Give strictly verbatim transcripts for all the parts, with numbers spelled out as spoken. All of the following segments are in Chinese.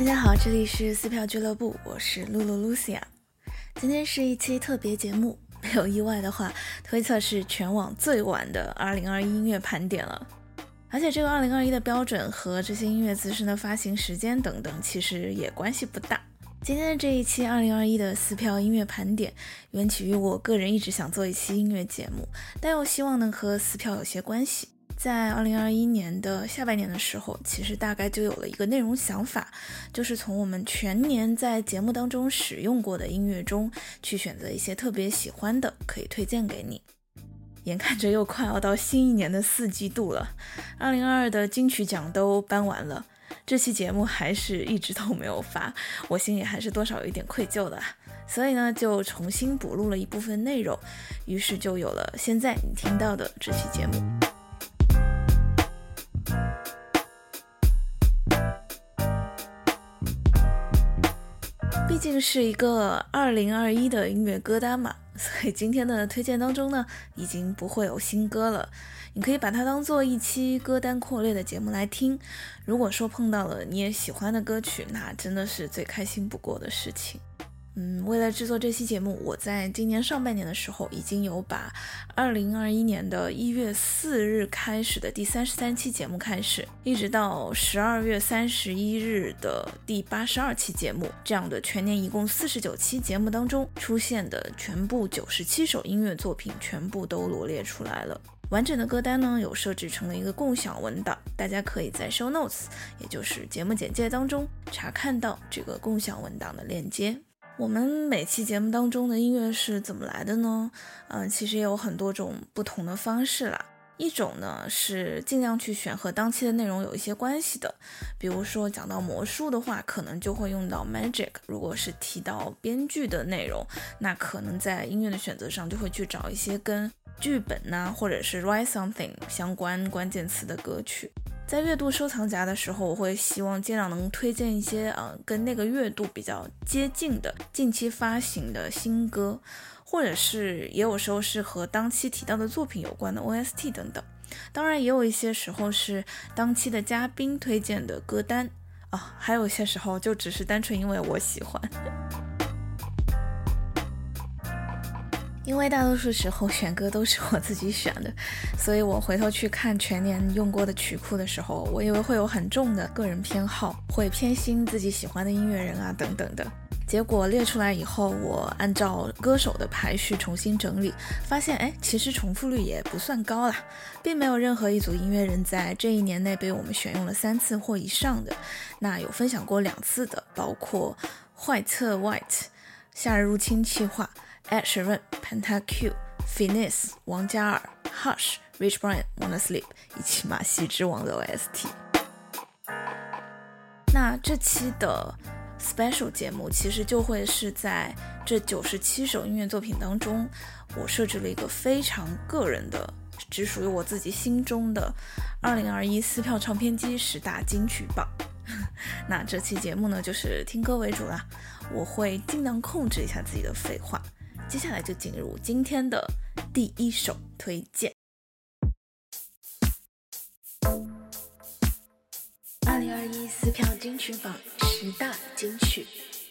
大家好，这里是撕票俱乐部，我是露露 Lucia。 今天是一期特别节目，没有意外的话，推测是全网最晚的二零二一音乐盘点了。而且这个二零二一的标准和这些音乐资深的发行时间等等其实也关系不大。今天的这一期二零二一的撕票音乐盘点缘起于我个人一直想做一期音乐节目，但又希望能和撕票有些关系。在二零二一年的下半年的时候，其实大概就有了一个内容想法，就是从我们全年在节目当中使用过的音乐中去选择一些特别喜欢的，可以推荐给你。眼看着又快要到新一年的四季度了，二零二二的金曲奖都颁完了，这期节目还是一直都没有发，我心里还是多少有一点愧疚的啊。所以呢，就重新补录了一部分内容，于是就有了现在你听到的这期节目。毕竟是一个二零二一的音乐歌单嘛，所以今天的推荐当中呢，已经不会有新歌了。你可以把它当做一期歌单扩列的节目来听。如果说碰到了你也喜欢的歌曲，那真的是最开心不过的事情。嗯，为了制作这期节目，我在今年上半年的时候已经有把二零二一年的一月四日开始的第三十三期节目开始，一直到十二月三十一日的第八十二期节目，这样的全年一共四十九期节目当中出现的全部九十七首音乐作品全部都罗列出来了。完整的歌单呢，有设置成了一个共享文档，大家可以在 show notes， 也就是节目简介当中查看到这个共享文档的链接。我们每期节目当中的音乐是怎么来的呢？嗯、呃，其实也有很多种不同的方式啦。一种呢是尽量去选和当期的内容有一些关系的，比如说讲到魔术的话，可能就会用到 Magic， 如果是提到编剧的内容，那可能在音乐的选择上就会去找一些跟剧本呐、啊，或者是 write something 相关关键词的歌曲。在月度收藏夹的时候，我会希望尽量能推荐一些呃跟那个月度比较接近的近期发行的新歌，或者是也有时候是和当期提到的作品有关的 O S T 等等。当然也有一些时候是当期的嘉宾推荐的歌单啊，还有一些时候就只是单纯因为我喜欢。因为大多数时候选歌都是我自己选的，所以我回头去看全年用过的曲库的时候，我以为会有很重的个人偏好，会偏心自己喜欢的音乐人啊等等的。结果列出来以后，我按照歌手的排序重新整理，发现哎，其实重复率也不算高啦，并没有任何一组音乐人在这一年内被我们选用了三次或以上的。那有分享过两次的，包括坏特 White、夏日入侵企划、Ed Sheeran、Pentakill、Finesse、王嘉尔、Hush、Rich Brian、Wanna Sleep 以及马戏之王的 O S T。 那这期的 special 节目其实就会是在这九十七首音乐作品当中，我设置了一个非常个人的，只属于我自己心中的二零二一撕票唱片机十大金曲榜。那这期节目呢，就是听歌为主啦，我会尽量控制一下自己的废话。接下来就进入今天的第一首推荐。二零二一撕票金曲榜十大金曲。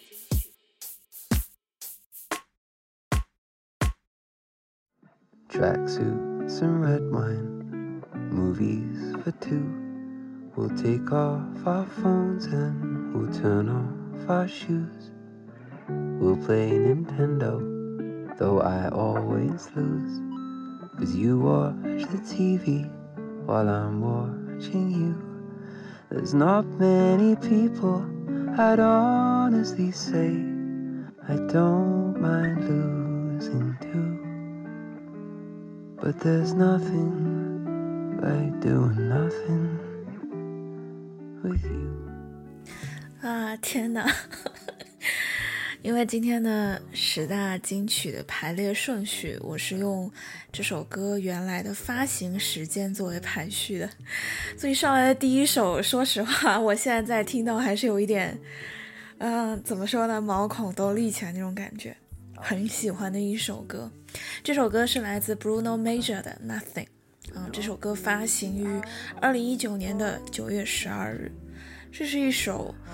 Tracksuits and red wine, movies for two. We'll take off our phones and we'll turn off our shoes. We'll play Nintendo, though I always lose. 'Cause you watch the T V while I'm watching you. There's not many people I'd honestly say I don't mind losing to. But there's nothing like doing nothing with you. 啊，天哪！因为今天的十大金曲的排列顺序，我是用这首歌原来的发行时间作为排序的，所以上来的第一首，说实话，我现在在听到还是有一点，嗯、呃，怎么说呢，毛孔都立起来那种感觉，很喜欢的一首歌。这首歌是来自 Bruno Major 的 Nothing， 嗯，这首歌发行于二零一九年的九月十二日，这是一首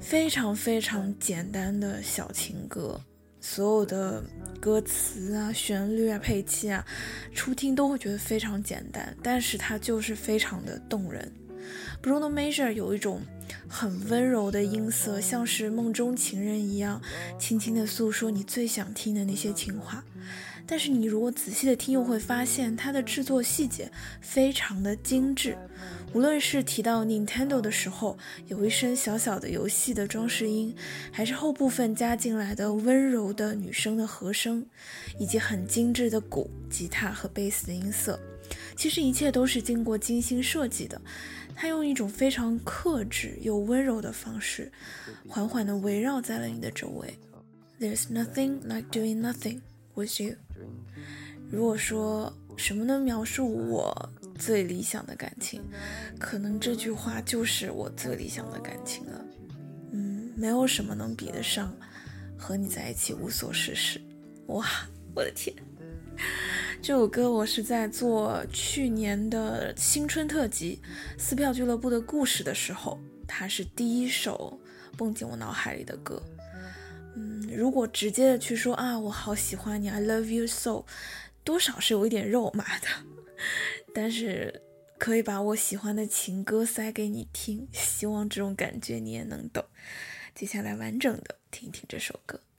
非常非常简单的小情歌，所有的歌词啊、旋律啊、配器啊，初听都会觉得非常简单，但是它就是非常的动人。Bruno Mars 有一种很温柔的音色，像是梦中情人一样，轻轻地诉说你最想听的那些情话。但是你如果仔细的听，又会发现它的制作细节非常的精致。无论是提到 Nintendo 的时候，有一声小小的游戏的装饰音，还是后部分加进来的温柔的女声的和声，以及很精致的鼓、吉他和贝斯的音色，其实一切都是经过精心设计的。它用一种非常克制又温柔的方式，缓缓地围绕在了你的周围。There's nothing like doing nothing with you。 如果说什么能描述我最理想的感情，可能这句话就是我最理想的感情了。嗯，没有什么能比得上和你在一起无所事事。哇，我的天！这首歌我是在做去年的新春特辑撕票俱乐部的故事的时候，它是第一首蹦进我脑海里的歌。嗯，如果直接的去说啊，我好喜欢你 I love you so， 多少是有一点肉麻的，但是可以把我喜欢的情歌塞给你听，希望这种感觉你也能懂。接下来完整的听一听这首歌。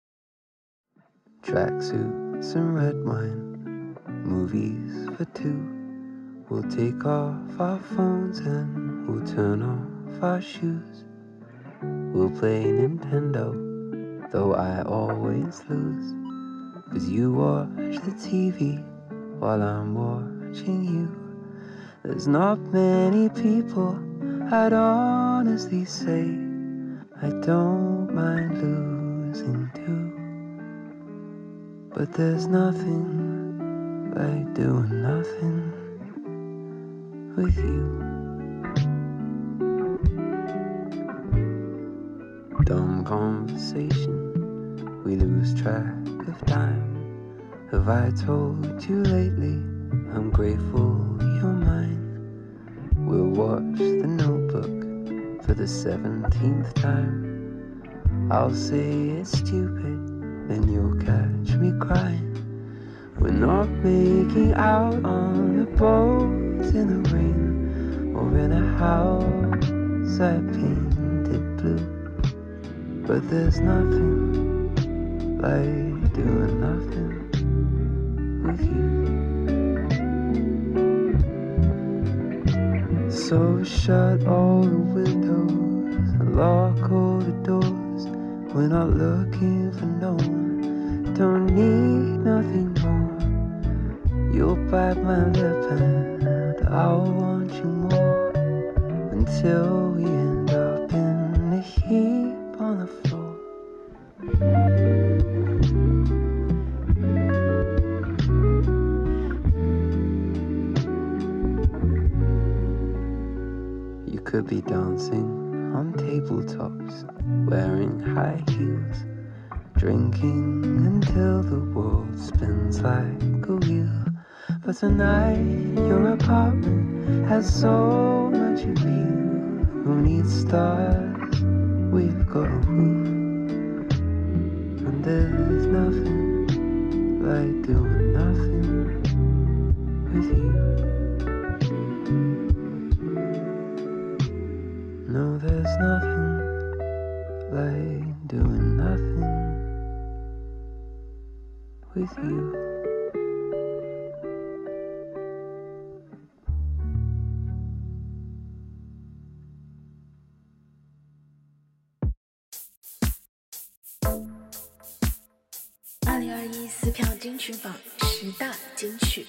Tracksuits and red wine, movies for two. We'll take off our phones and we'll turn off our shoes. We'll play Nintendo, though I always lose. 'Cause you watch the T V while I'm watching you. There's not many people I'd honestly say I don't mind losing to. But there's nothing like doing nothing with you. Dumb conversation, we lose track of time. Have I told you lately I'm grateful you're mine? We'll watch The Notebook for the seventeenth time. I'll say it's stupid, then you'll catch me crying. We're not making out on the boat in the rain, or in a house I painted blue. But there's nothing like doing nothing with you. So shut all the windows and lock all the doors. We're not looking for no one, don't need nothing more. You'll bite my lip and I'll want you more, until we end up in a heap on the floor. You could be dancing on tabletops, wearing high heels, drinking until the world spins like a wheel. But tonight your apartment has so much appeal. Who needs stars? We've got a roof. And there's nothing like doing nothing with you. No, there's nothing like doing nothing with you. 《二零二一撕票金曲榜》十大金曲。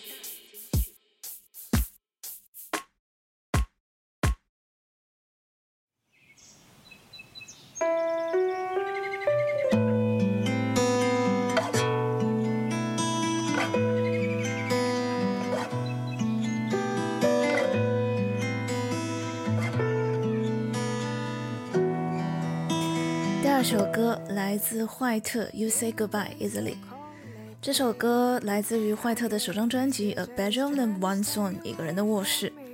第二首歌来自坏特 You Say Goodbye Easily。 这首歌来自于坏特的首张专辑 A Bedroom and One Song 一个人的卧室。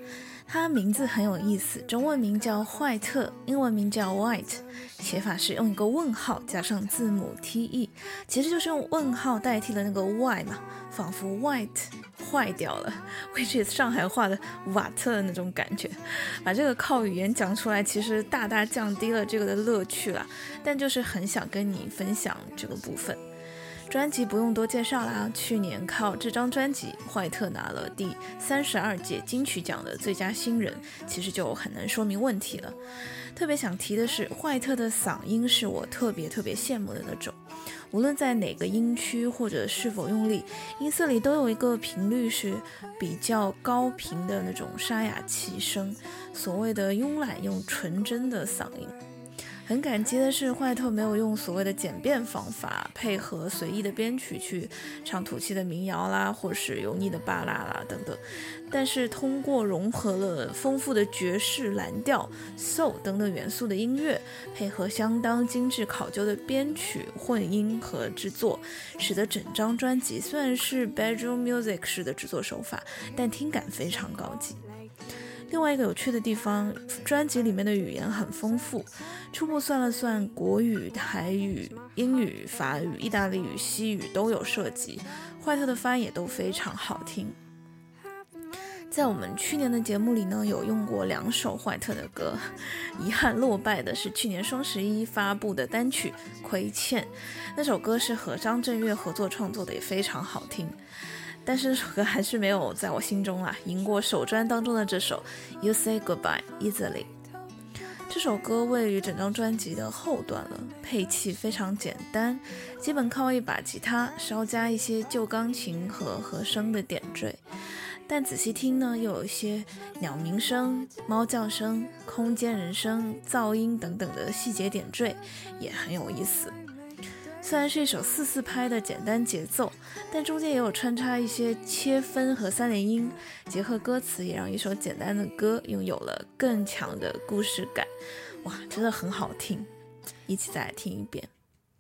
他名字很有意思，中文名叫坏特，英文名叫 White， 写法是用一个问号加上字母 T E， 其实就是用问号代替了那个 Y 嘛，仿佛 White 坏掉了 which is 上海话的瓦特的那种感觉。把这个靠语言讲出来其实大大降低了这个的乐趣啦，但就是很想跟你分享这个部分。专辑不用多介绍啦，去年靠这张专辑坏特拿了第三十二届金曲奖的最佳新人，其实就很能说明问题了。特别想提的是，坏特的嗓音是我特别特别羡慕的那种，无论在哪个音区或者是否用力，音色里都有一个频率是比较高频的那种沙哑气声，所谓的慵懒又纯真的嗓音。很感激的是，坏特没有用所谓的简便方法配合随意的编曲去唱土气的民谣啦，或是油腻的巴拉啦等等，但是通过融合了丰富的爵士、蓝调、soul 等等元素的音乐，配合相当精致考究的编曲、混音和制作，使得整张专辑虽然是 bedroom music 式的制作手法，但听感非常高级。另外一个有趣的地方，专辑里面的语言很丰富，初步算了算，国语、台语、英语、法语、意大利语、西语都有涉及，坏特的发音也都非常好听。在我们去年的节目里呢，有用过两首坏特的歌，遗憾落败的是去年双十一发布的单曲《亏欠》，那首歌是和张震岳合作创作的，也非常好听。但是这首歌还是没有在我心中啊赢过首专当中的这首 You Say Goodbye Easily。 这首歌位于整张专辑的后段了，配器非常简单，基本靠一把吉他稍加一些旧钢琴和和声的点缀，但仔细听呢，又有一些鸟鸣声、猫叫声、空间人声、噪音等等的细节点缀，也很有意思。虽然是一首四四拍的简单节奏，但中间也有穿插一些切分和三连音，结合歌词也让一首简单的歌拥有了更强的故事感。哇，真的很好听，一起再来听一遍。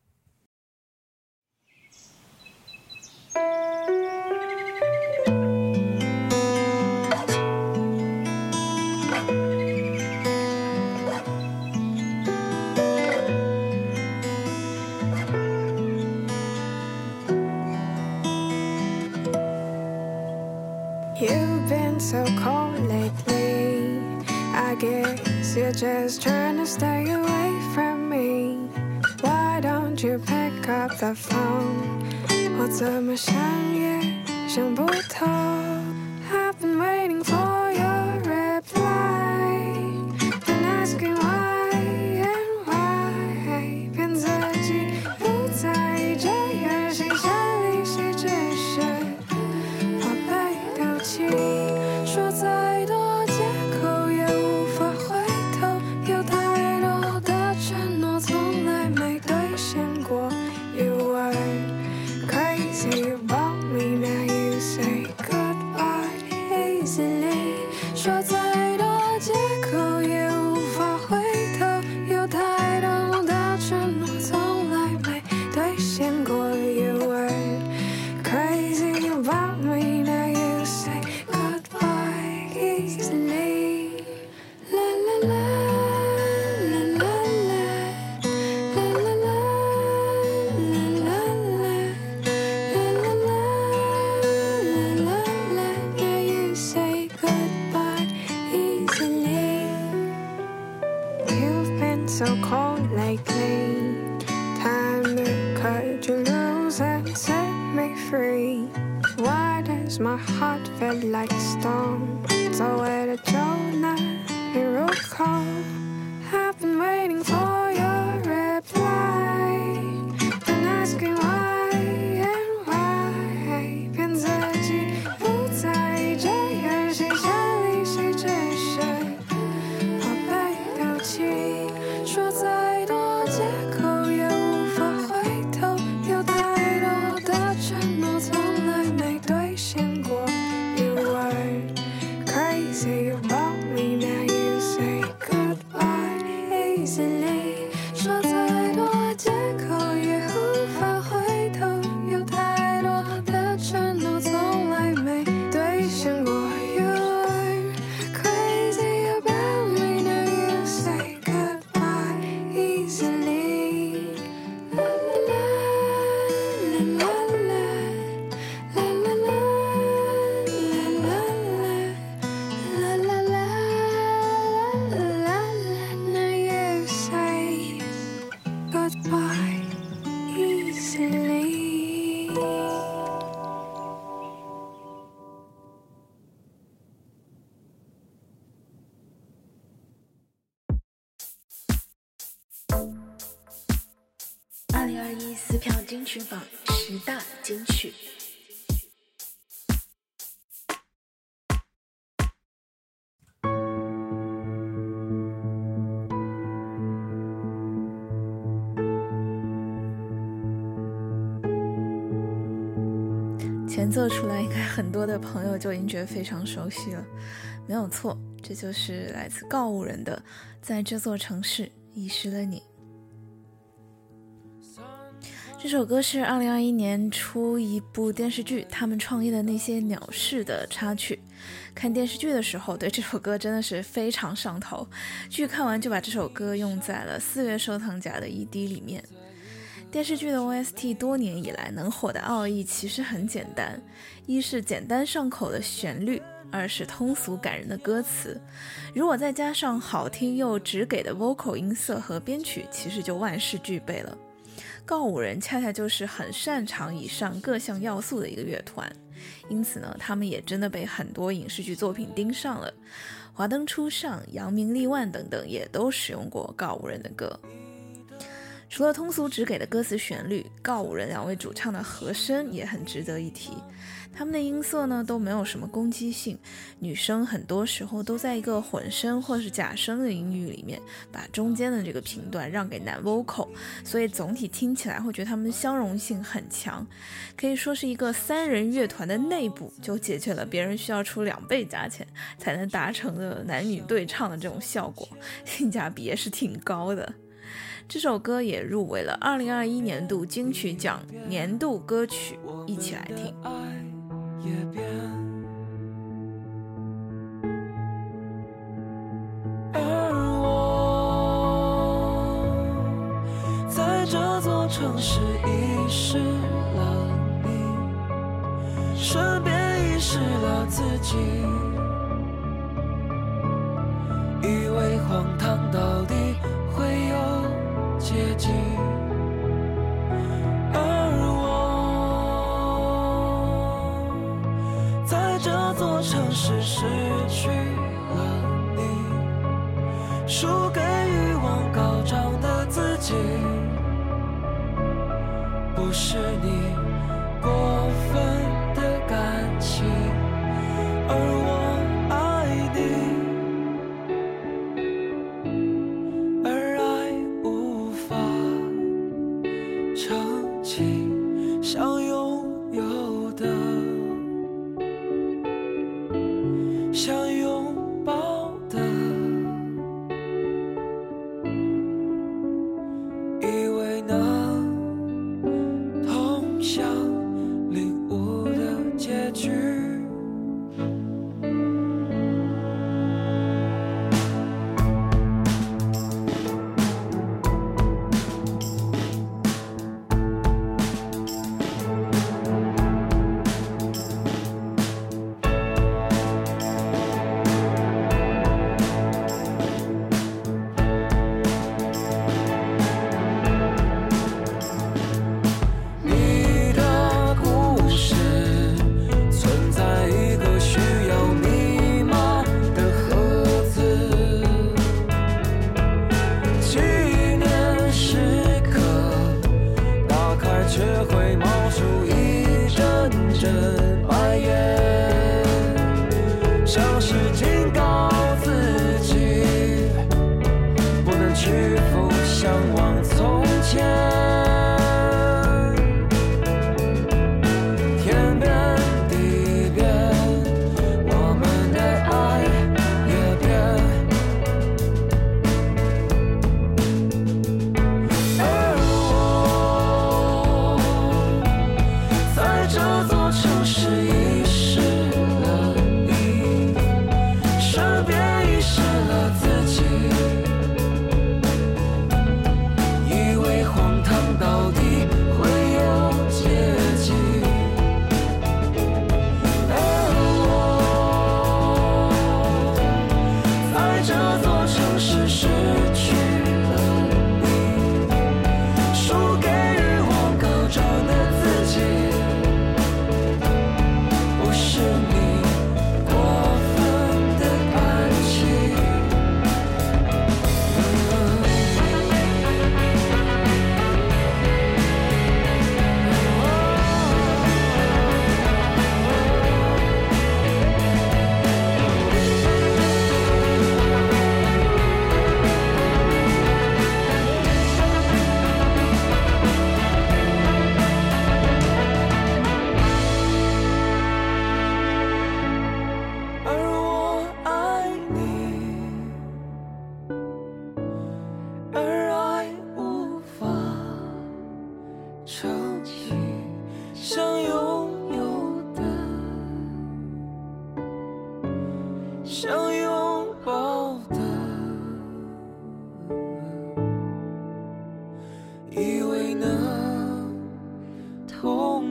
You've been so cold lately, I guess you're just trying to stay away from me. Why don't you pick up the phone? 我怎么想也想不透。 I've been waiting for your reply, been asking why and why， 骗自己不在这样新鲜里谁只是说再多借口也无法回头，有太多的承诺从来没兑现过。You were crazy about me, now you say goodbye easily。说再多借口也无法回头，有太多的承诺从来没兑现过。You were crazy about me, now you say easily. La la la, la la la, la la la, la la la, la la la, la la. Now you say goodbye easily. You've been so cold lately. Time to cut you loose and set me free. Why does my heart feel like a storm? So where did you not recall? I've been waiting for your reply, been asking why and why， 骗自己不在这样新鲜里，谁只是怕被丢弃。说再多借口也无法回头，有太多的承诺从来没兑现过。You were crazy about me, now you say goodbye easily。 说再多借口也无法回头，有太多的承诺从来没兑现过。You were crazy 零二一撕票金曲榜十大金曲。前奏出来，应该很多的朋友就已经觉得非常熟悉了。没有错，这就是来自告五人的《在这座城市遗失了你》。这首歌是二零二一年出一部电视剧《他们创业的那些鸟事》的插曲。看电视剧的时候，对这首歌真的是非常上头，剧看完就把这首歌用在了四月收藏夹的 E D 里面。电视剧的 O S T 多年以来能火的奥义其实很简单，一是简单上口的旋律，二是通俗感人的歌词，如果再加上好听又直给的 vocal 音色和编曲，其实就万事俱备了。告五人恰恰就是很擅长以上各项要素的一个乐团，因此呢，他们也真的被很多影视剧作品盯上了。华灯初上、扬名立万等等也都使用过告五人的歌。除了通俗直给的歌词旋律，告五人两位主唱的和声也很值得一提。他们的音色呢都没有什么攻击性，女生很多时候都在一个混声或是假声的音域里面，把中间的这个频段让给男 vocal， 所以总体听起来会觉得他们相容性很强，可以说是一个三人乐团的内部就解决了别人需要出两倍价钱才能达成的男女对唱的这种效果，性价比也是挺高的。这首歌也入围了二零二一年度金曲奖年度歌曲，一起来听。 而我在这座城市遗失了你，顺便遗失了自己，以为荒唐到底会有结局，而我在这座城市失去了你，输给欲望高涨的自己，不是你过分的感情，而我爱你，想拥有的，想拥抱的，以为能通向领悟的结局。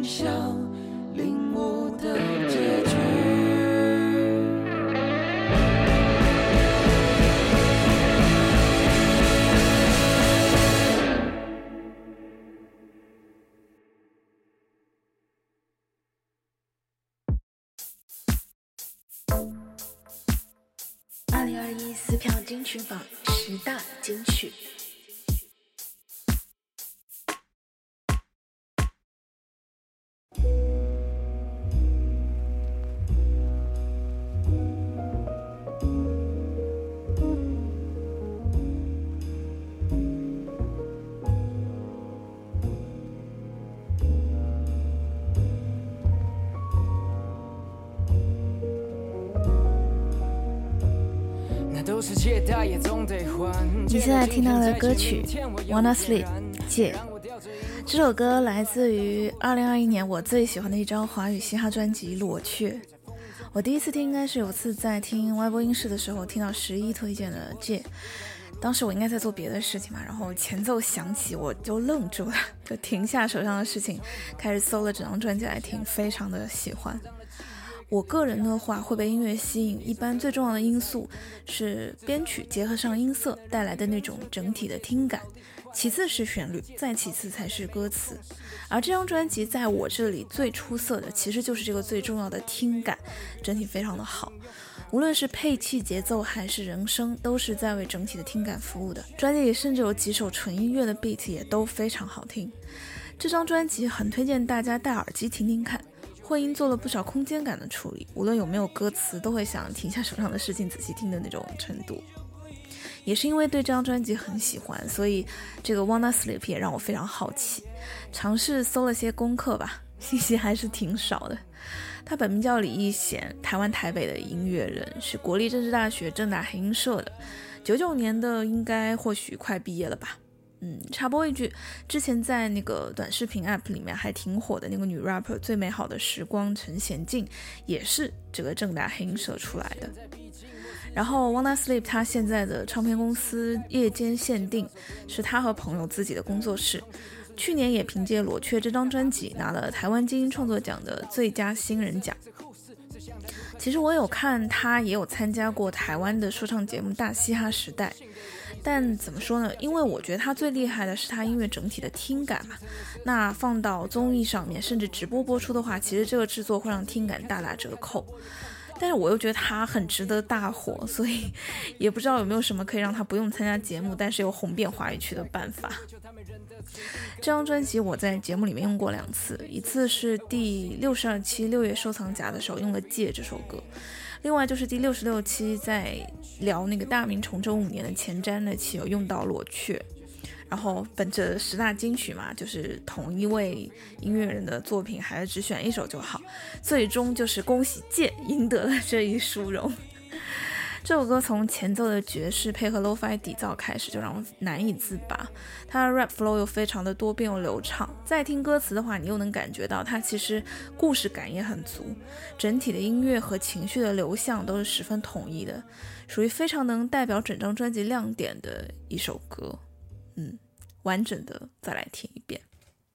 想领悟的结局。 二零二一撕票金曲榜十大金曲。你现在听到的歌曲 Wanna Sleep 戒，这首歌来自于二零二一年我最喜欢的一张华语嘻哈专辑裸雀。我第一次听应该是有次在听歪播音室的时候听到十一推荐的戒，当时我应该在做别的事情嘛，然后前奏响起我就愣住了，就停下手上的事情开始搜了整张专辑来听，非常的喜欢。我个人的话会被音乐吸引，一般最重要的因素是编曲结合上音色带来的那种整体的听感，其次是旋律，再其次才是歌词。而这张专辑在我这里最出色的其实就是这个最重要的听感，整体非常的好，无论是配器节奏还是人声都是在为整体的听感服务的。专辑里甚至有几首纯音乐的 beat 也都非常好听。这张专辑很推荐大家戴耳机听听看，混音做了不少空间感的处理，无论有没有歌词都会想停下手上的事情仔细听的那种程度。也是因为对这张专辑很喜欢，所以这个 Wanna Sleep 也让我非常好奇，尝试搜了些功课吧，信息还是挺少的。他本名叫李义贤，台湾台北的音乐人，是国立政治大学政大黑音社的，九九年的，应该或许快毕业了吧。嗯，插播一句，之前在那个短视频 app 里面还挺火的那个女 rapper 最美好的时光陈娴静，也是这个政大黑音社出来的。然后 Wanna Sleep 他现在的唱片公司夜间限定，是他和朋友自己的工作室，去年也凭借裸雀这张专辑拿了台湾金鹰创作奖的最佳新人奖。其实我有看他也有参加过台湾的说唱节目大嘻哈时代，但怎么说呢，因为我觉得他最厉害的是他音乐整体的听感嘛，那放到综艺上面甚至直播播出的话，其实这个制作会让听感大打折扣，但是我又觉得他很值得大火，所以也不知道有没有什么可以让他不用参加节目但是又红遍华语区的办法。这张专辑我在节目里面用过两次，一次是第六十二期六月收藏夹的时候用了《戒》这首歌，另外就是第六十六期在聊那个大明崇祯五年的前瞻那期有用到裸雀。然后本着十大金曲嘛，就是同一位音乐人的作品还是只选一首就好，最终就是恭喜戒赢得了这一殊荣。这首歌从前奏的爵士配合 lo-fi 底噪开始就让我难以自拔，它的 rap flow 又非常的多变又流畅，再听歌词的话你又能感觉到它其实故事感也很足，整体的音乐和情绪的流向都是十分统一的，属于非常能代表整张专辑亮点的一首歌。嗯，完整的再来听一遍。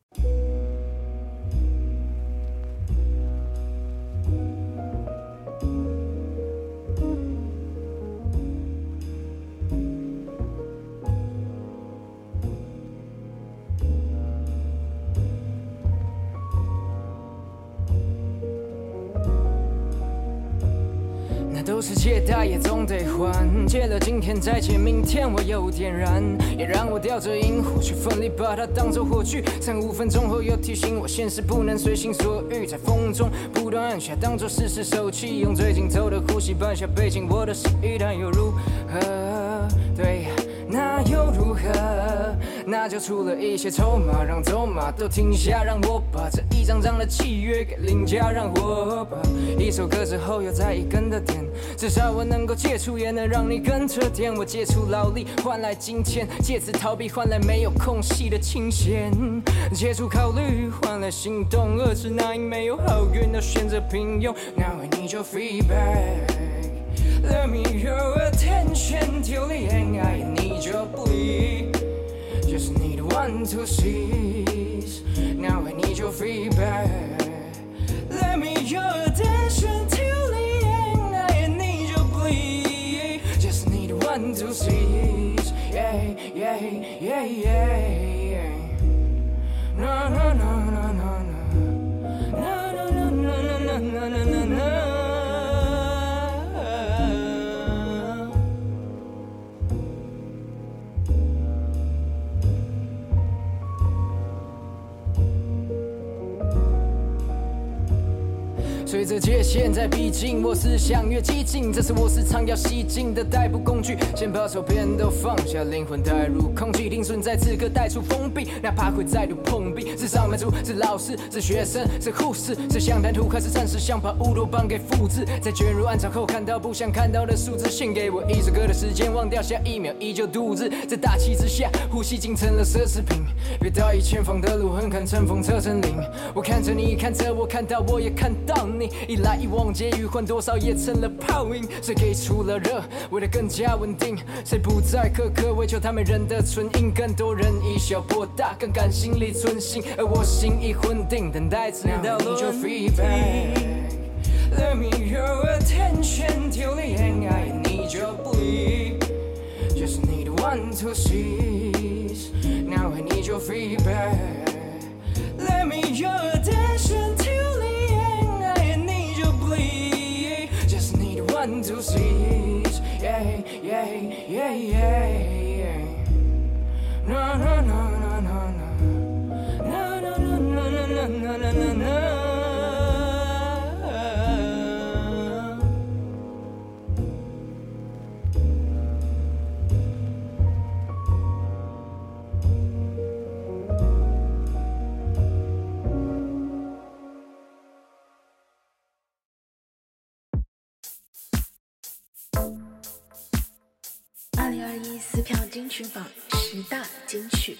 都是借贷也总得还，借了今天再借明天，我有点燃，也让我吊着萤火去奋力把它当作火炬，三五分钟后又提醒我现实不能随心所欲，在风中不断按下当作试试手气，用最紧凑的呼吸搬下背景，我的失意但又如何？对，那又如何？那就出了一些筹码，让走马都停下，让我把这一张张的契约给领家，让我把一首歌之后又再一根的点，至少我能够戒除，也能让你跟着点。我戒除劳力换来金钱，借此逃避换来没有空隙的清闲，戒除考虑换来行动，遏制那因没有好运而选择平庸。Now I need your feedback, let me your attention till the end. I need your bleed, just need one one to seize. Now I need your feedback. Let me your attention till the end. I need your plea. Just need one to seize. Yeah, yeah, yeah, yeah. No, no, no, no, no, no. No, no, no, no, no, no, no, no, no. 随着界限在逼近，我思想越激进，这是我时常要吸进的逮捕工具。先把手边都放下，灵魂带入空气，停存在此刻带出封闭，哪怕会再度碰壁。是上班族，是老师，是学生，是护士，是想谈吐，还是暂时想把乌托邦给复制？在卷入暗潮后，看到不想看到的数字，献给我一首歌的时间，忘掉下一秒依旧度日。在大气之下，呼吸竟成了奢侈品。别到意前方的路很看乘风侧成岭，我看着你，看着我，看到我也看到你。 一来一往皆余换多少也成了泡影，谁给出了热，为了更加稳定，谁不再苛刻为求他们人的唇印，更多人以小博大，更敢心力存心，而我心已魂定，等待直到你就 feedback。Let me your attention till the end, I need your plea. Just need one to seize. Now I need your feedback. Let me your attention till the one to seize, yeah, yeah, yeah, yeah. No, no, no, no, no, no, no, no, no, no, no, no, no, no, no. 二零二一撕票金曲榜十大金曲。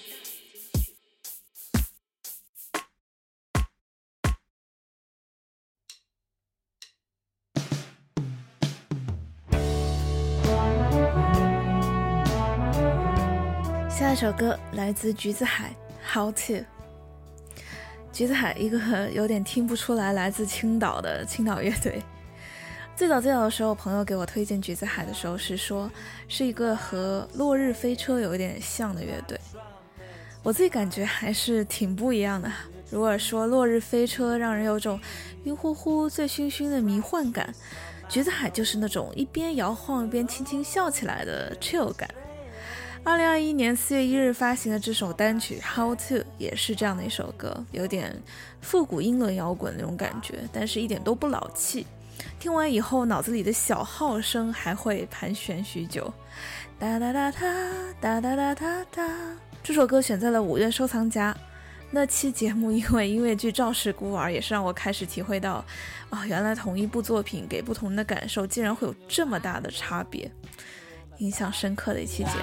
下一首歌来自橘子海 How To。 橘子海一个有点听不出来来自青岛的青岛乐队。最早最早的时候，朋友给我推荐橘子海的时候是说是一个和落日飞车有一点像的乐队，我自己感觉还是挺不一样的。如果说落日飞车让人有种晕乎乎醉醺醺的迷幻感，橘子海就是那种一边摇晃一边轻轻笑起来的 chill 感。二零二一年四月一日发行的这首单曲 How To 也是这样的一首歌，有点复古英伦摇滚那种感觉，但是一点都不老气。听完以后脑子里的小号声还会盘旋许久，哒哒哒哒哒哒哒哒哒。这首歌选在了五月收藏夹，那期节目因为音乐剧《赵氏孤儿》也是让我开始体会到啊，原来同一部作品给不同人的感受竟然会有这么大的差别，印象深刻的一期节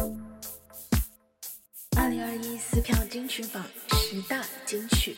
二零二一撕票金曲榜十大金曲。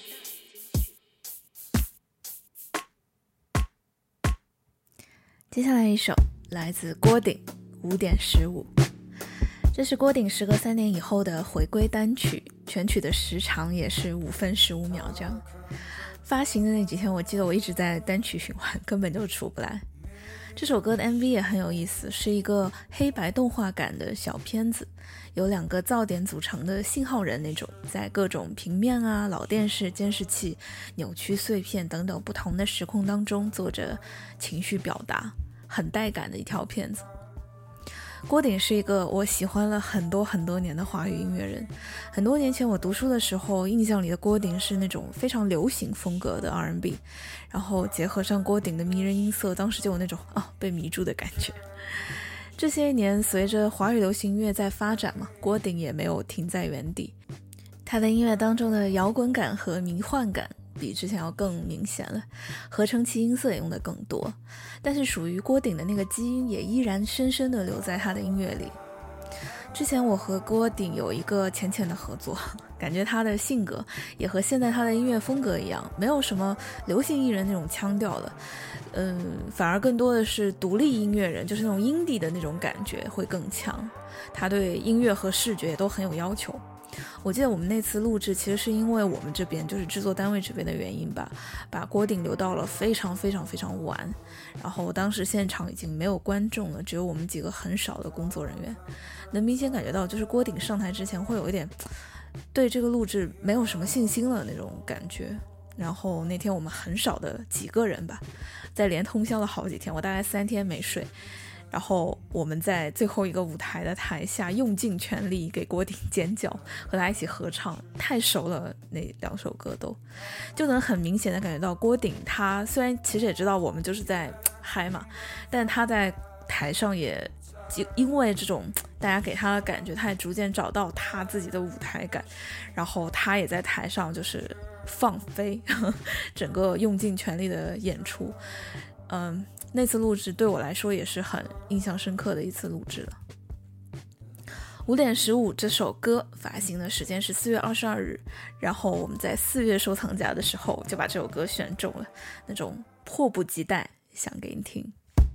接下来一首来自郭顶五点十五，这是郭顶时隔三年以后的回归单曲，全曲的时长也是五分十五秒这样。发行的那几天我记得我一直在单曲循环，根本就出不来。这首歌的 M V 也很有意思，是一个黑白动画感的小片子，有两个噪点组成的信号人那种，在各种平面啊、老电视、监视器、扭曲碎片等等不同的时空当中做着情绪表达，很带感的一条片子。郭顶是一个我喜欢了很多很多年的华语音乐人。很多年前我读书的时候，印象里的郭顶是那种非常流行风格的 R and B， 然后结合上郭顶的迷人音色，当时就有那种啊被迷住的感觉。这些年随着华语流行音乐在发展嘛，郭顶也没有停在原地，他的音乐当中的摇滚感和迷幻感比之前要更明显了，合成器音色也用的更多，但是属于郭顶的那个基因也依然深深地留在他的音乐里。之前我和郭顶有一个浅浅的合作，感觉他的性格也和现在他的音乐风格一样，没有什么流行艺人那种腔调了，嗯，反而更多的是独立音乐人，就是那种 indie 的那种感觉会更强。他对音乐和视觉也都很有要求。我记得我们那次录制其实是因为我们这边就是制作单位这边的原因吧，把郭顶留到了非常非常非常晚，然后当时现场已经没有观众了，只有我们几个很少的工作人员，能明显感觉到就是郭顶上台之前会有一点对这个录制没有什么信心了那种感觉。然后那天我们很少的几个人吧，在连通宵了好几天，我大概三天没睡，然后我们在最后一个舞台的台下用尽全力给郭顶尖叫，和他一起合唱，太熟了，那两首歌都就能很明显的感觉到郭顶他虽然其实也知道我们就是在嗨嘛，但他在台上也因为这种大家给他的感觉，他也逐渐找到他自己的舞台感，然后他也在台上就是放飞整个用尽全力的演出。嗯，那次录制对我来说也是很印象深刻的一次录制了。五点十五这首歌发行的时间是四月二十二日，然后我们在四月收藏夹的时候就把这首歌选中了，那种迫不及待想给你听。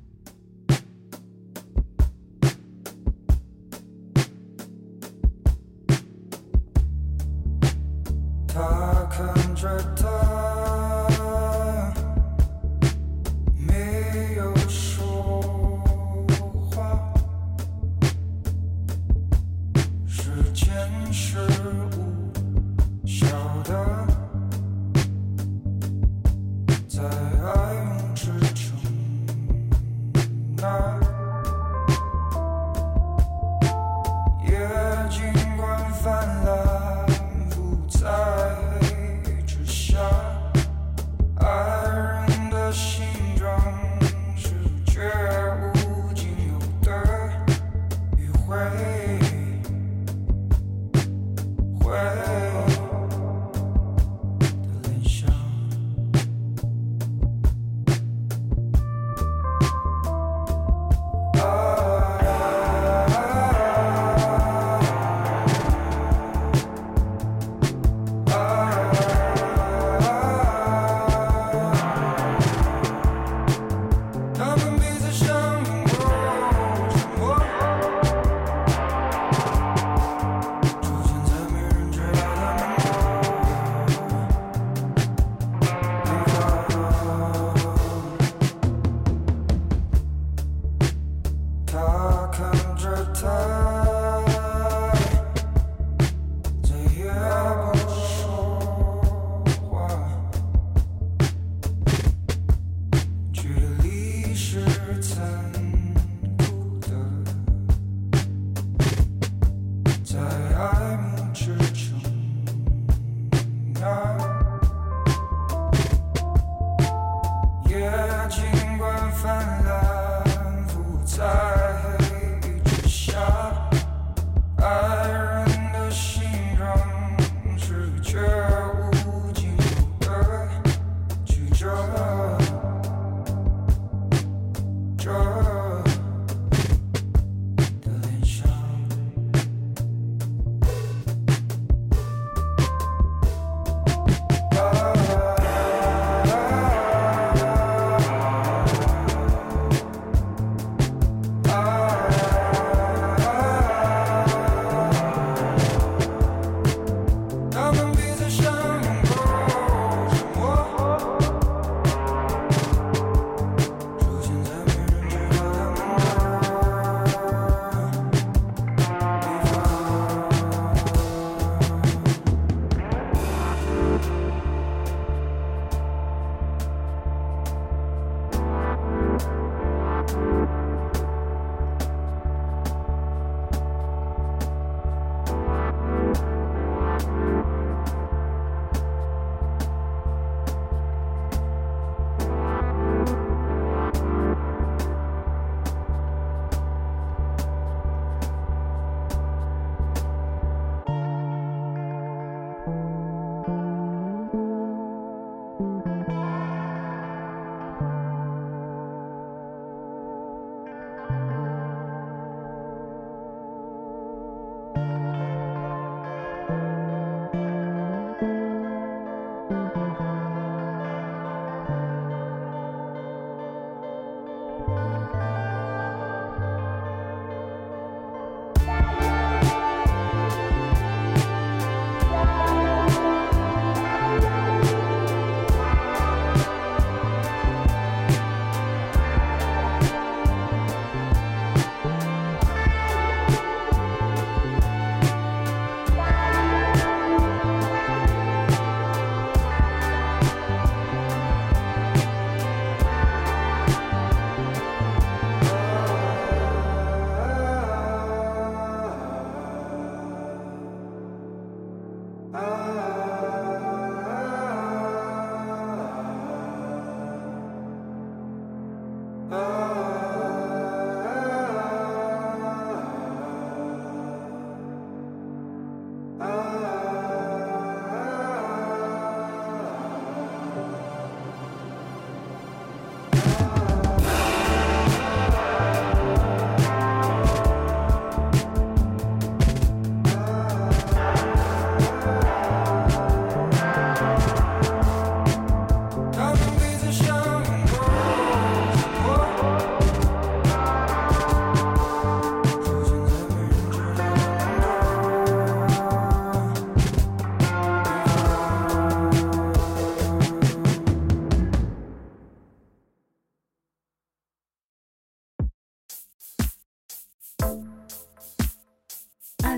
他看着他没有说话，时间是无效的，在爱用支撑那夜尽管泛滥不在之下，爱人的形状是绝无仅有的迂回回的联想。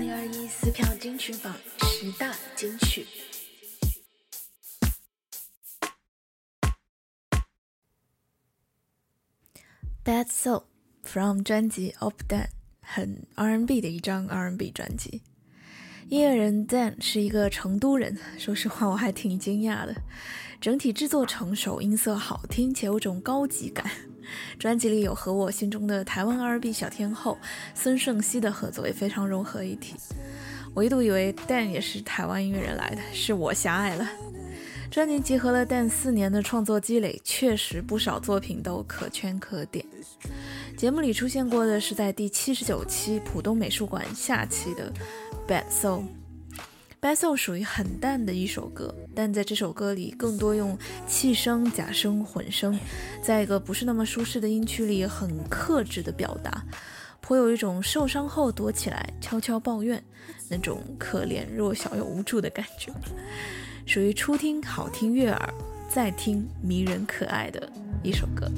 二零二一撕票金曲榜十大金曲。Bad Soul from 专辑 Op Dan， 很 R and B 的一张 R and B 专辑。音乐人 Dan 是一个成都人，说实话我还挺惊讶的。整体制作成熟，音色好听且有种高级感。专辑里有和我心中的台湾 R and B 小天后孙盛熙的合作也非常融合一体。我一度以为 Dan 也是台湾音乐人来的，是我狭隘了。专辑集合了Dan四年的创作积累，确实不少作品都可圈可点。节目里出现过的是在第七十九期浦东美术馆下期的 Bad Soul。 Bad Soul 属于很淡的一首歌，但在这首歌里更多用气声、假声、混声，在一个不是那么舒适的音区里很克制的表达，颇有一种受伤后躲起来悄悄抱怨，那种可怜弱小又无助的感觉，属于初听好听悦耳，再听迷人可爱的一首歌。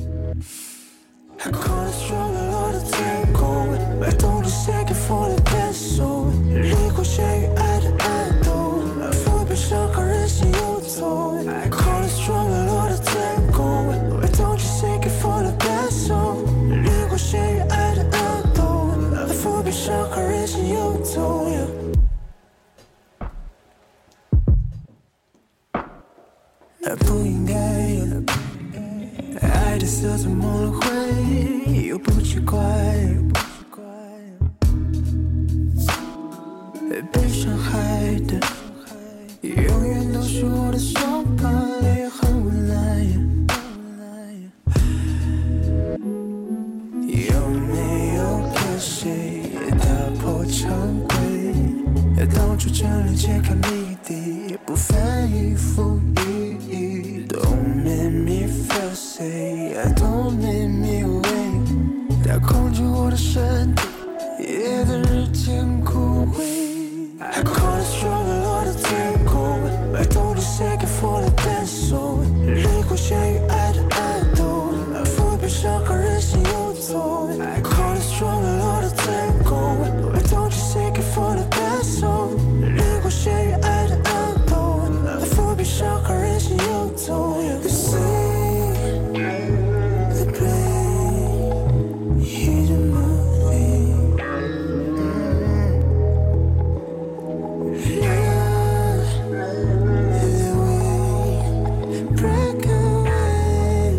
I call it strong, a lot of tango. I don't just take it for the best, so 离过血与爱的暗斗，腹背伤害人心有痛。I call it strong, a lot of tango. I don't just take it for the best, so 离过血与爱的暗斗，腹背伤害人心有痛。不应该。爱的色彩蒙了灰，又不奇怪，被伤害的永远都是我的伤疤，也很无奈。有没有跟谁打破常规，到处整理揭开谜底，不翻译覆语，Don't make me feel safe, I don't make me wait， 它控制我的身体，夜的日渐枯萎。I call it strong, a lot of tango. I don't just take it for the best, so 离过血与爱的暗斗，腹背伤害人心有痛。I call it strong, a lot of tango. I don't just take it for the best, so 离过血与爱的暗斗，腹背伤害人心有痛。You see the pain, hear the movie, love the way break away.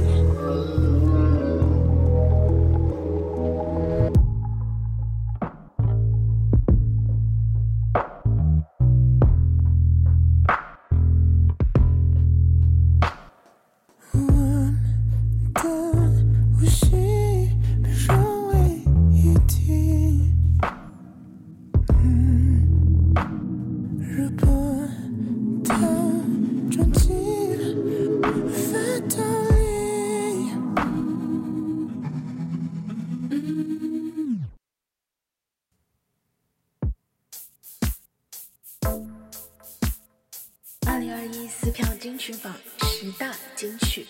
One的呼吸被融为一体，嗯，如波涛撞击发动力。 二零二一撕票金曲榜十大金曲。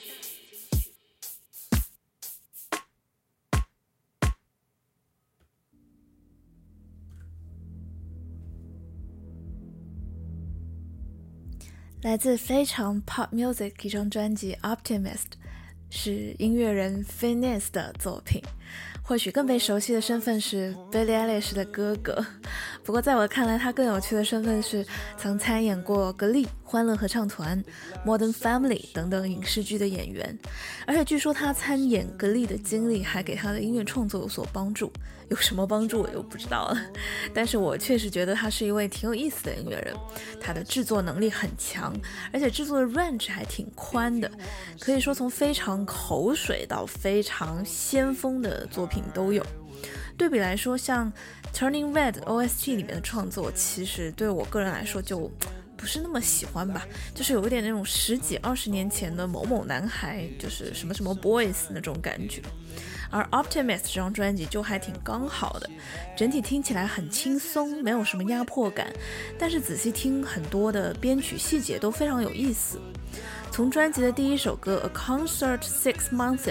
来自非常 pop music 一张专辑 Optimist， 是音乐人 Finesse 的作品，或许更被熟悉的身份是 Billie Eilish 的哥哥，不过在我看来他更有趣的身份是曾参演过格力、欢乐合唱团、Modern Family 等等影视剧的演员，而且据说他参演格力的经历还给他的音乐创作有所帮助，有什么帮助我又不知道了，但是我确实觉得他是一位挺有意思的音乐人，他的制作能力很强，而且制作的 range 还挺宽的，可以说从非常口水到非常先锋的作品都有。对比来说，像 Turning Red O S T 里面的创作，其实对我个人来说就不是那么喜欢吧，就是有一点那种十几二十年前的某某男孩，就是什么什么 boys 那种感觉。而 Optimist 这张专辑就还挺刚好的，整体听起来很轻松，没有什么压迫感，但是仔细听很多的编曲细节都非常有意思。从专辑的第一首歌 A Concert Six Months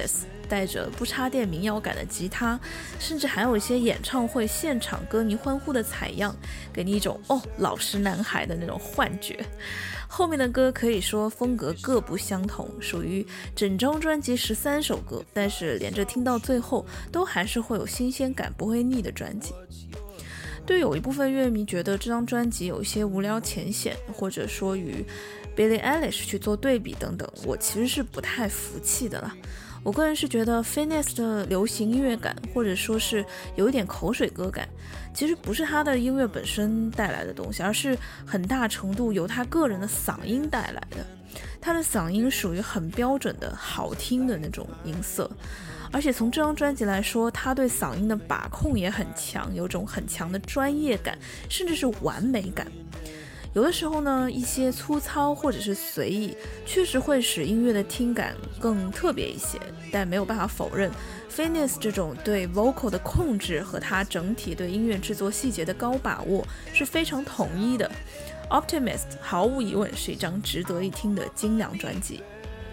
带着不插电民谣感的吉他，甚至还有一些演唱会现场歌迷欢呼的采样，给你一种哦老实男孩的那种幻觉。后面的歌可以说风格各不相同，属于整张专辑十三首歌，但是连着听到最后都还是会有新鲜感，不会腻的专辑。对于有一部分乐迷觉得这张专辑有一些无聊浅显，或者说与 Billie Eilish 去做对比等等，我其实是不太服气的啦。我个人是觉得 Finesse 的流行音乐感，或者说是有一点口水歌感，其实不是他的音乐本身带来的东西，而是很大程度由他个人的嗓音带来的。他的嗓音属于很标准的好听的那种音色，而且从这张专辑来说，他对嗓音的把控也很强，有种很强的专业感，甚至是完美感。有的时候呢，一些粗糙或者是随意确实会使音乐的听感更特别一些，但没有办法否认 Finesse 这种对 vocal 的控制和他整体对音乐制作细节的高把握是非常统一的。 Optimist 毫无疑问是一张值得一听的精良专辑。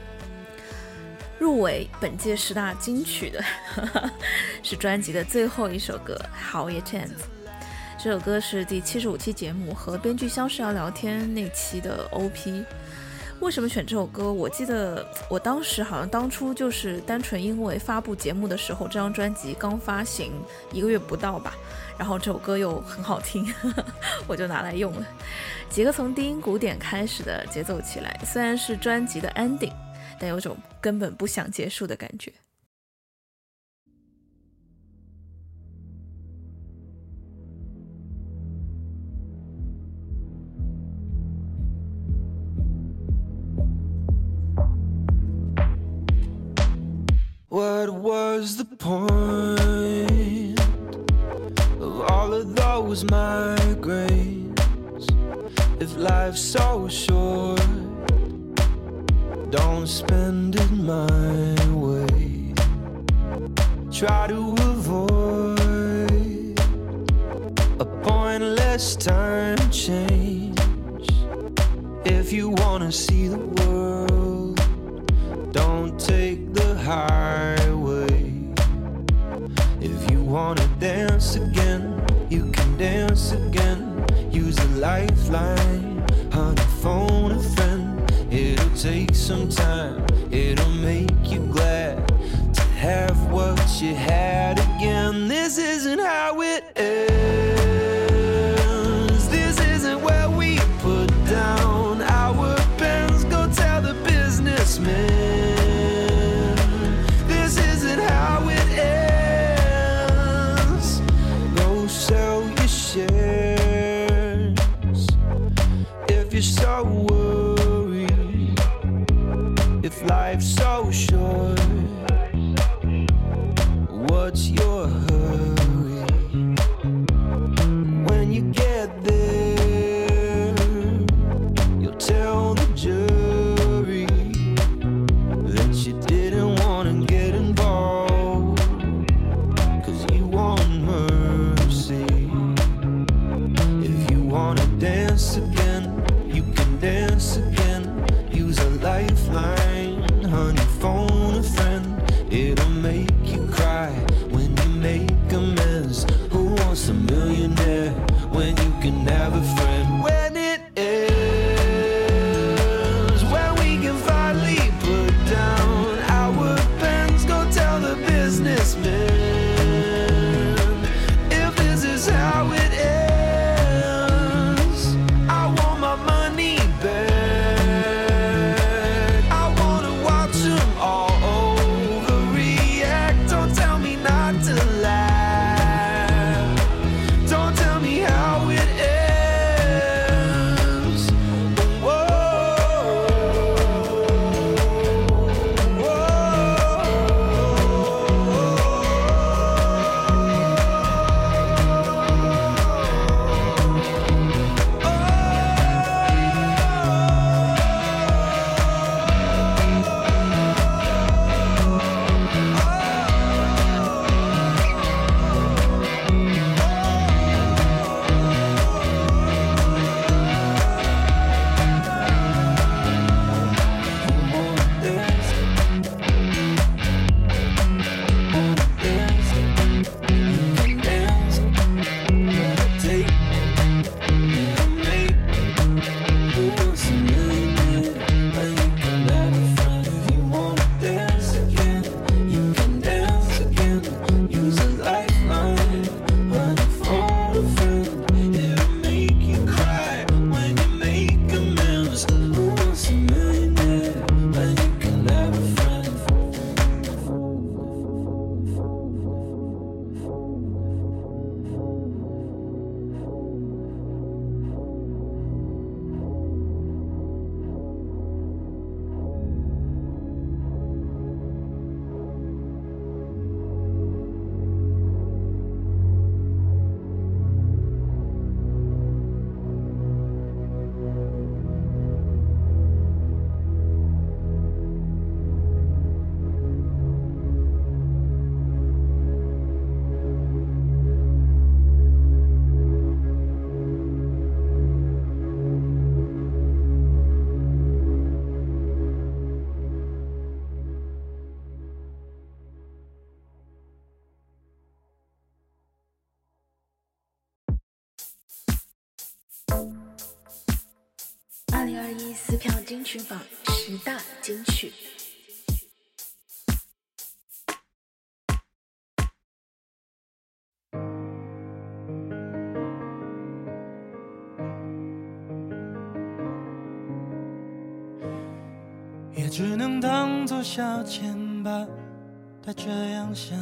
入围本届十大金曲的是专辑的最后一首歌 How It Ends。这首歌是第七十五期节目和编剧相识要聊天那期的 O P。 为什么选这首歌？我记得我当时好像当初就是单纯因为发布节目的时候这张专辑刚发行一个月不到吧，然后这首歌又很好听我就拿来用了。几个从低音鼓点开始的节奏起来，虽然是专辑的 ending， 但有种根本不想结束的感觉。 What was the point of all of those migraines? If life's so short, don't spend it my way. Try to avoid a pointless time change. If you wanna see the world, don't take the highway. If you wanna dance again, you can dance again. Use a lifeline, honey, phone a friend. It'll take some time, it'll make you glad to have what you had again. This isn't how it ends. This isn't where we put down our pens. Go tell the businessmen. This isn't how it ends. Go sell your shares if you're so worried. If life's so short, what's your hurry? When you get there, you'll tell the jury that you didn't want to get involved, 'cause you want mercy. If you want to dance again, you can dance again. Use a lifeline, honey, phone a friend. It'll make you cry when you make amends. Who wants a millionaire when you can have a friend? When it ends, when we can finally put down our pens, go tell the businessmen. If this is how it ends, I want my money back. I 二零二一撕票金曲榜十大金曲。 也只能当作消遣吧，他这样想，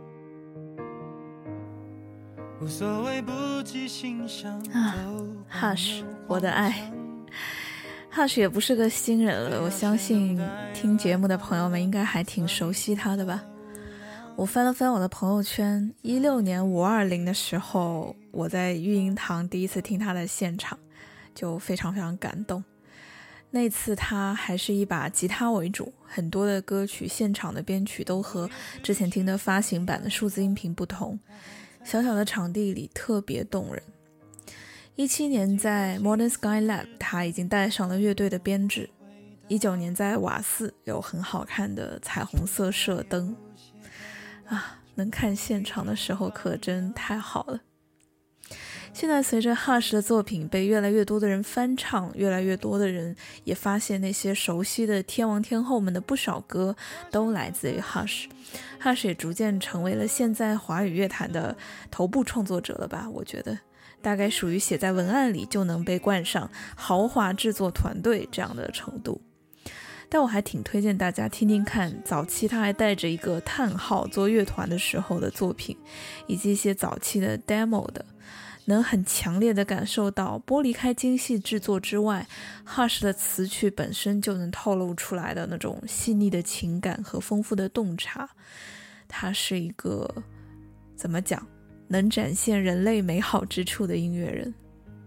无所谓不计欣赏。 啊 Hush 我的爱。 Hush 也不是个新人了，我相信听节目的朋友们应该还挺熟悉他的吧。我翻了翻我的朋友圈，一六年五二零的时候，我在育婴堂第一次听他的现场，就非常非常感动。那次他还是以把吉他为主，很多的歌曲现场的编曲都和之前听的发行版的数字音频不同，小小的场地里特别动人。一七年在 Modern Sky Lab 他已经带上了乐队的编制，一九年在瓦寺有很好看的彩虹色射灯啊，能看现场的时候可真太好了。现在随着 Hush 的作品被越来越多的人翻唱，越来越多的人也发现那些熟悉的天王天后们的不少歌都来自于 Hush。 Hush 也逐渐成为了现在华语乐坛的头部创作者了吧，我觉得大概属于写在文案里就能被冠上豪华制作团队这样的程度。但我还挺推荐大家听听看早期他还带着一个叹号做乐团的时候的作品，以及一些早期的 demo 的，能很强烈的感受到剥离开精细制作之外， Hush 的词曲本身就能透露出来的那种细腻的情感和丰富的洞察。他是一个怎么讲，能展现人类美好之处的音乐人。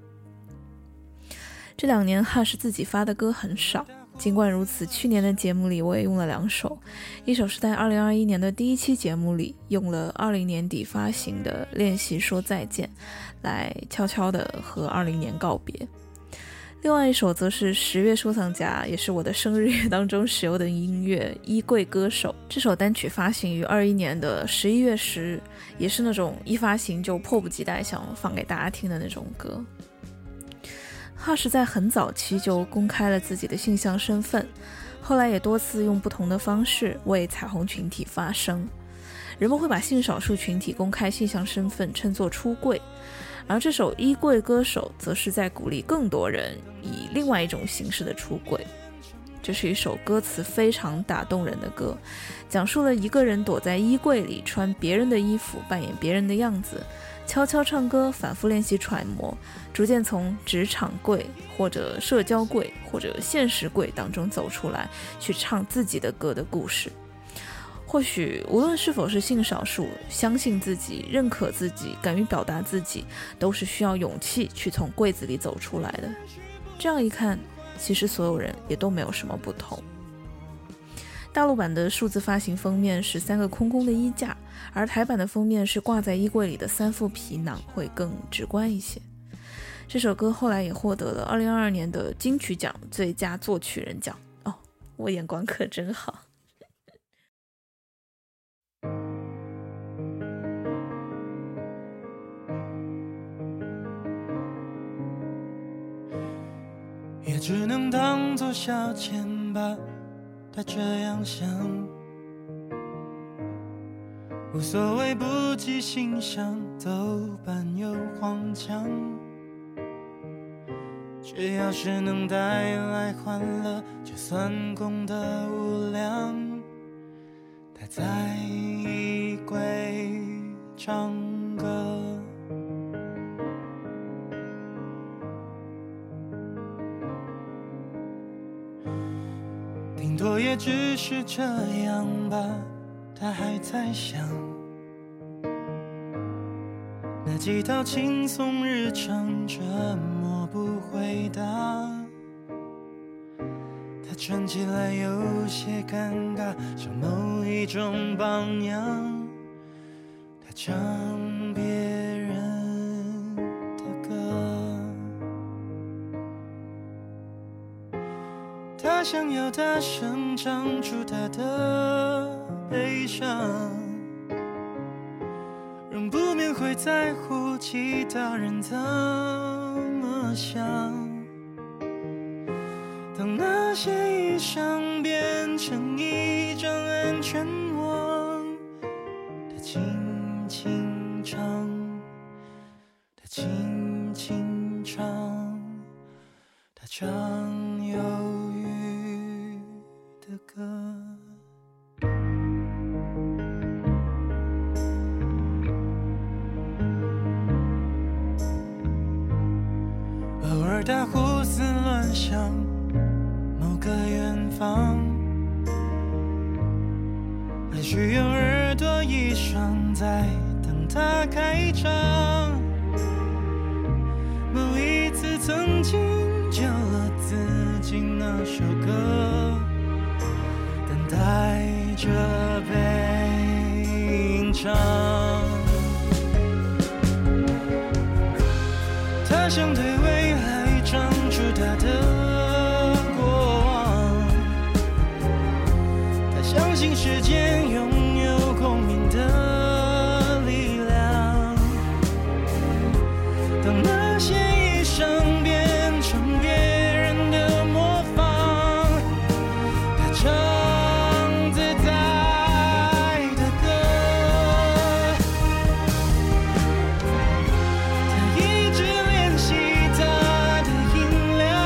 这两年 Hush 自己发的歌很少，尽管如此，去年的节目里我也用了两首，一首是在二零二一年的第一期节目里用了二零年底发行的练习说再见来悄悄地和二零年告别，另外一首则是十月收藏夹，也是我的生日月当中使用的音乐衣柜歌手。这首单曲发行于二一年的十一月十日，也是那种一发行就迫不及待想放给大家听的那种歌。Hush 在很早期就公开了自己的性向身份，后来也多次用不同的方式为彩虹群体发声。人们会把性少数群体公开性向身份称作出柜，而这首衣柜歌手则是在鼓励更多人以另外一种形式的出柜。这是一首歌词非常打动人的歌，讲述了一个人躲在衣柜里穿别人的衣服，扮演别人的样子，悄悄唱歌，反复练习揣摩，逐渐从职场柜或者社交柜或者现实柜当中走出来，去唱自己的歌的故事。或许无论是否是性少数，相信自己，认可自己，敢于表达自己，都是需要勇气去从柜子里走出来的。这样一看，其实所有人也都没有什么不同。大陆版的数字发行封面是三个空空的衣架，而台版的封面是挂在衣柜里的三副皮囊，会更直观一些。这首歌后来也获得了二零二二年的金曲奖最佳作曲人奖。哦，我眼光可真好。 也只能当作消遣吧，他这样想，无所谓不计欣赏，走板又荒腔，只要是能带来欢乐，就算功德无量。他在衣柜唱歌，顶多也只是这样吧，他还在想那几道轻松日常，折磨不回答。他穿起来有些尴尬，像某一种榜样。他唱别人的歌，他想要大声唱出他的悲伤，仍不免会在乎其他人怎么么想？当那些衣裳变成一张安全网，它轻轻唱，它轻轻唱，它唱忧郁的歌。偶尔他胡思乱想某个远方，也许有耳朵一双在等他开张。某一次曾经救了自己那首歌，等待着被吟唱。他想对未来唱出他的过往，他相信时间拥有共鸣的力量。当那些衣裳变成别人的模仿，他唱自在的歌。他一直练习他的音量，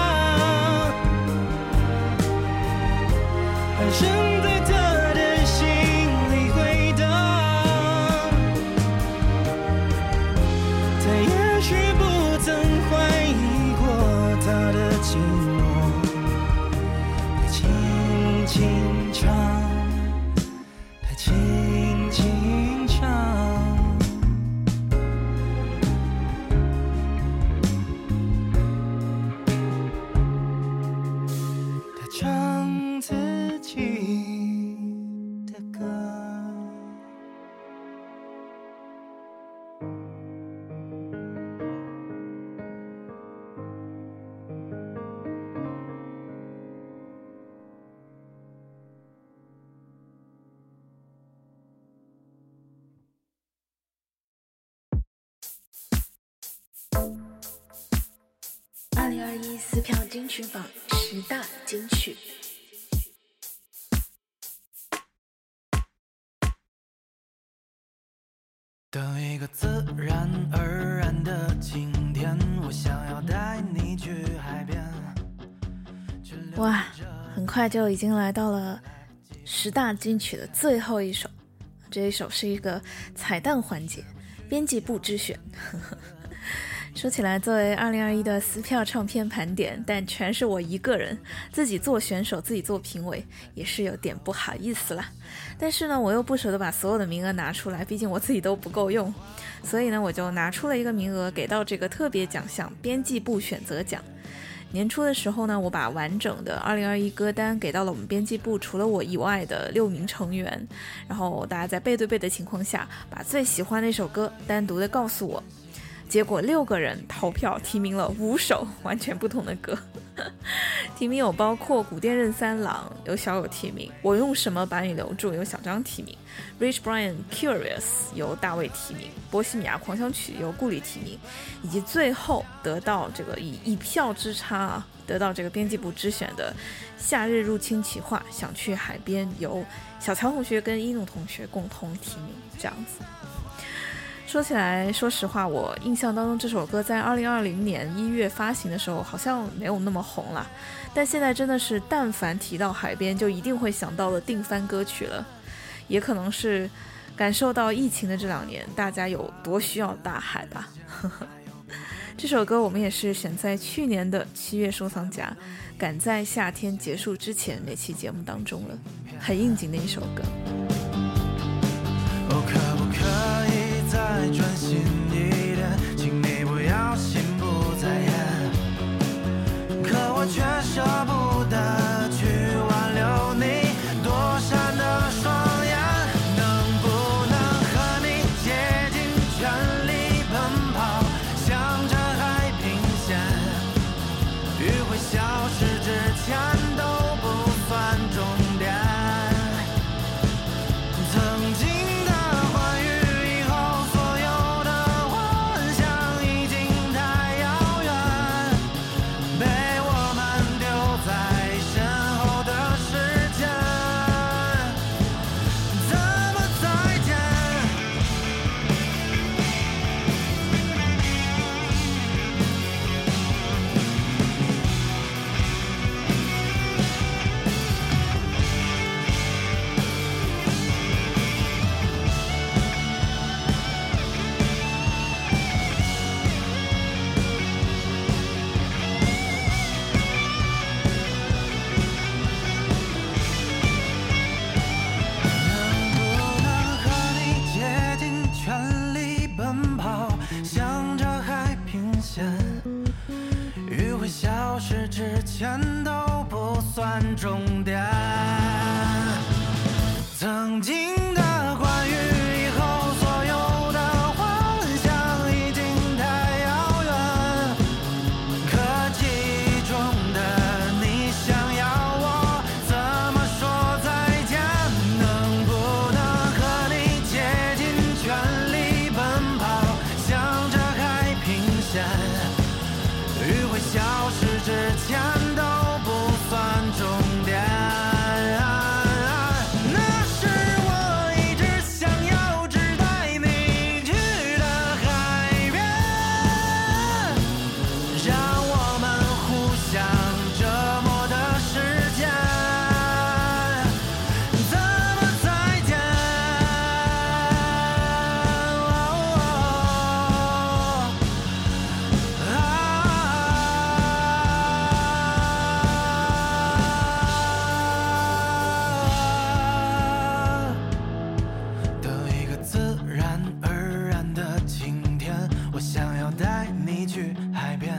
喊声在他的心里回荡。他也许不曾怀疑过他的寂寞，他轻轻唱，他轻轻唱。他唱自己的歌。 二零二一撕票金曲榜十大金曲。 的一个自然而然的晴天，我想要带你去海边。 哇，很快就已经来到了十大金曲的最后一首，这一首是一个彩蛋环节，编辑部之选。说起来，作为二零二一的撕票唱片盘点，但全是我一个人自己做选手，自己做评委，也是有点不好意思啦。但是呢，我又不舍得把所有的名额拿出来，毕竟我自己都不够用，所以呢，我就拿出了一个名额给到这个特别奖项编辑部选择奖。年初的时候呢，我把完整的二零二一歌单给到了我们编辑部除了我以外的六名成员，然后大家在背对背的情况下，把最喜欢的一首歌单独的告诉我。结果六个人投票提名了五首完全不同的歌，提名有包括古殿任三郎有小有提名，我用什么把你留住有小张提名， Rich Brian Curious 由大卫提名，波西米亚狂想曲由顾里提名，以及最后得到这个以一票之差啊得到这个编辑部之选的夏日入侵企划想去海边由小乔同学跟一怒同学共同提名，这样子。说起来，说实话，我印象当中这首歌在二零二零年一月发行的时候好像没有那么红啦，但现在真的是但凡提到海边就一定会想到的定番歌曲了。也可能是感受到疫情的这两年大家有多需要大海吧。这首歌我们也是选在去年的七月收藏夹，赶在夏天结束之前那期节目当中了，很应景的一首歌。 哦，可不可以再专心一点，请你不要心不在焉，可我却舍不得去挽留你躲闪的双眼，能不能和你竭尽全力奔跑，向着海平线，余晖消失之前都不算终点。曾经的欢愉以后所有的消失之前都不算终点。曾经的关于以后所有的幻想已经太遥远，可记忆中的你想要我怎么说再见？能不能和你竭尽全力奔跑，向着海平线？余晖消失之前都不算终点。那是我一直想要只带你去的海边，让我们互相折磨的时间，怎么再见？的一个自然而然的晴天，我想要带你去海边。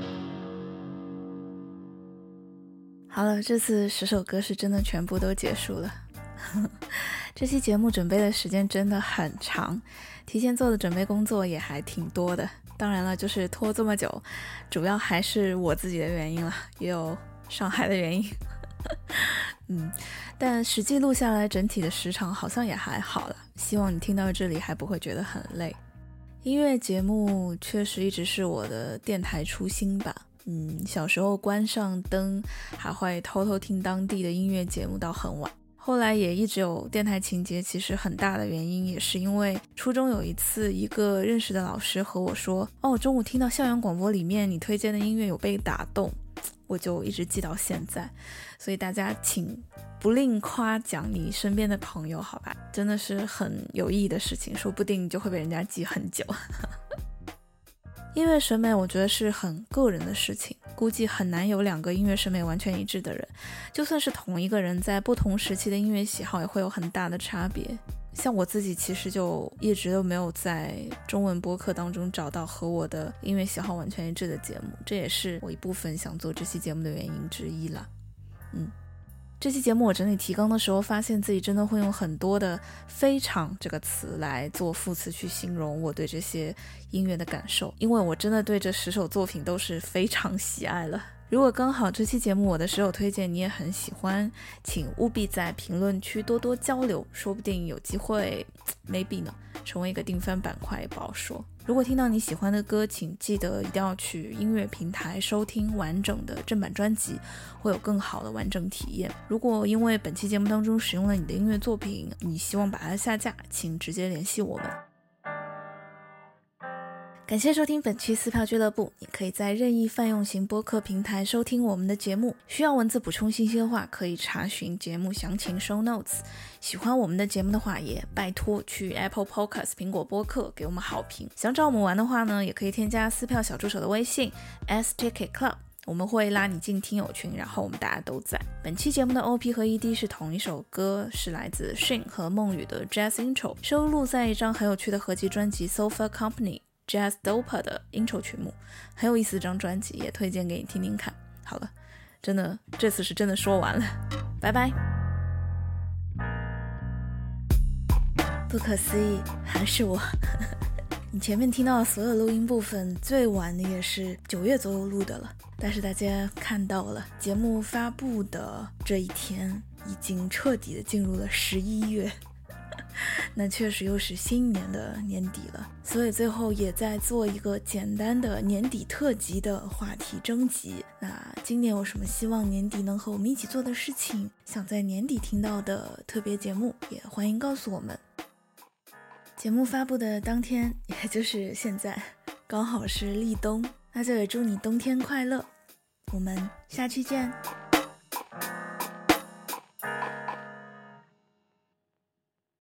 好了，这次十首歌是真的全部都结束了。这期节目准备的时间真的很长，提前做的准备工作也还挺多的。当然了，就是拖这么久，主要还是我自己的原因了，也有上海的原因。嗯，但实际录下来整体的时长好像也还好了，希望你听到这里还不会觉得很累。音乐节目确实一直是我的电台初心吧。嗯，小时候关上灯还会偷偷听当地的音乐节目到很晚，后来也一直有电台情节，其实很大的原因也是因为初中有一次一个认识的老师和我说，哦，中午听到校园广播里面你推荐的音乐有被打动，我就一直记到现在。所以大家请不吝夸奖你身边的朋友，好吧，真的是很有意义的事情，说不定你就会被人家记很久。音乐审美我觉得是很个人的事情，估计很难有两个音乐审美完全一致的人，就算是同一个人，在不同时期的音乐喜好也会有很大的差别。像我自己其实就一直都没有在中文播客当中找到和我的音乐喜好完全一致的节目，这也是我一部分想做这期节目的原因之一啦。嗯，这期节目我整理提纲的时候，发现自己真的会用很多的非常这个词来做副词去形容我对这些音乐的感受，因为我真的对这十首作品都是非常喜爱了。如果刚好这期节目我的十首推荐你也很喜欢，请务必在评论区多多交流，说不定有机会 maybe 呢成为一个定番板块也不好说。如果听到你喜欢的歌，请记得一定要去音乐平台收听完整的正版专辑，会有更好的完整体验。如果因为本期节目当中使用了你的音乐作品，你希望把它下架，请直接联系我们。感谢收听本期撕票俱乐部，你可以在任意泛用型播客平台收听我们的节目，需要文字补充信息的话，可以查询节目详情 show notes。 喜欢我们的节目的话，也拜托去 Apple Podcast 苹果播客给我们好评。想找我们玩的话呢，也可以添加撕票小助手的微信 S Ticket Club， 我们会拉你进听友群，然后我们大家都在。本期节目的 O P 和 E D 是同一首歌，是来自 Shin 和梦雨的 Jazz Intro， 收录在一张很有趣的合集专辑 Sofa Company Jazz Dopa 的 intro 曲目，很有意思的张专辑，也推荐给你听听看。好了，真的这次是真的说完了，拜拜。不可思议，还是我。你前面听到的所有录音部分，最晚的也是九月左右录的了，但是大家看到了，节目发布的这一天已经彻底的进入了十一月。那确实又是新年的年底了，所以最后也在做一个简单的年底特辑的话题征集。那今年有什么希望年底能和我们一起做的事情，想在年底听到的特别节目，也欢迎告诉我们。节目发布的当天，也就是现在，刚好是立冬，那就也祝你冬天快乐，我们下期见。